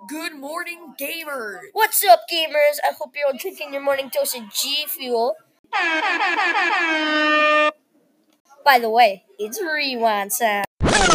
Good morning, gamers! What's up, gamers? I hope you're all drinking your morning dose of G Fuel. By the way, it's Rewind Sound.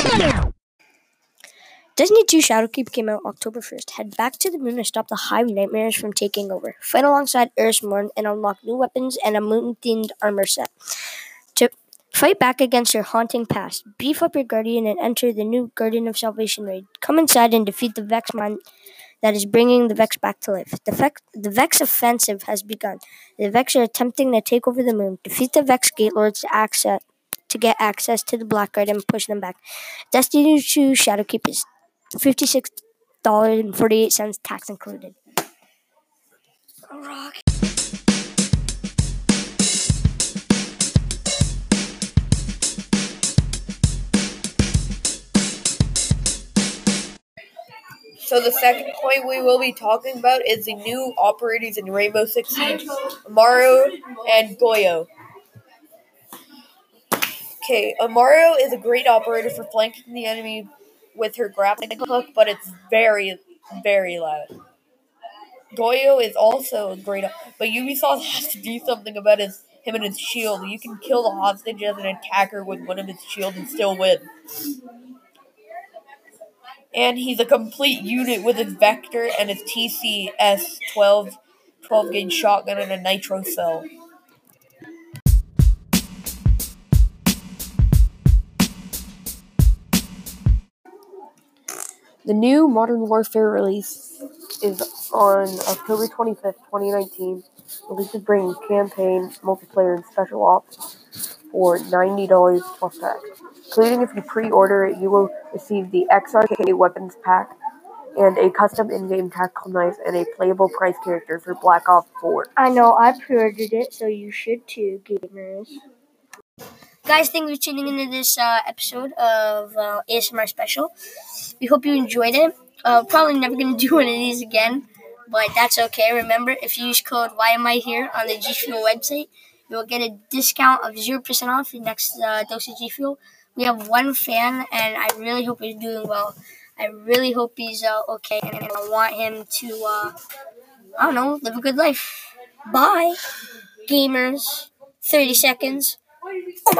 Destiny 2 Shadowkeep came out October 1st. Head back to the moon to stop the Hive Nightmares from taking over. Fight alongside Erismorn and unlock new weapons and a moon-themed armor set. To fight back against your haunting past, beef up your Guardian and enter the new Guardian of Salvation raid. Come inside and defeat the Vex mind that is bringing the Vex back to life. The Vex offensive has begun. The Vex are attempting to take over the moon. Defeat the Vex Gate Lords to get access to the Blackguard and push them back. Destiny 2 Shadowkeep is $56.48, tax included. Rock. So the second point we will be talking about is the new operators in Rainbow Six Siege, Amaro and Goyo. Okay, Amaro is a great operator for flanking the enemy with her grappling hook, but it's very, very loud. Goyo is also a great, but Ubisoft has to do something about him and his shield. You can kill the hostage as an attacker with one of his shields and still win. And he's a complete unit with his Vector and his TCS 12-gauge shotgun and a nitro cell. The new Modern Warfare release is on October 25th, 2019. Release is bringing campaign, multiplayer, and special ops for $90 plus tax. Including if you pre-order it, you will receive the XRK weapons pack and a custom in-game tactical knife and a playable price character for Black Ops 4. I know, I pre-ordered it, so you should too, gamers. Guys, thanks for tuning into this episode of ASMR Special. We hope you enjoyed it. Probably never going to do one of these again, but that's okay. Remember, if you use code YAMIHERE on the G Fuel website, you'll get a discount of 0% off your next dose of G Fuel. We have one fan, and I really hope he's doing well. I really hope he's okay, and I want him to, live a good life. Bye, gamers. 30 seconds.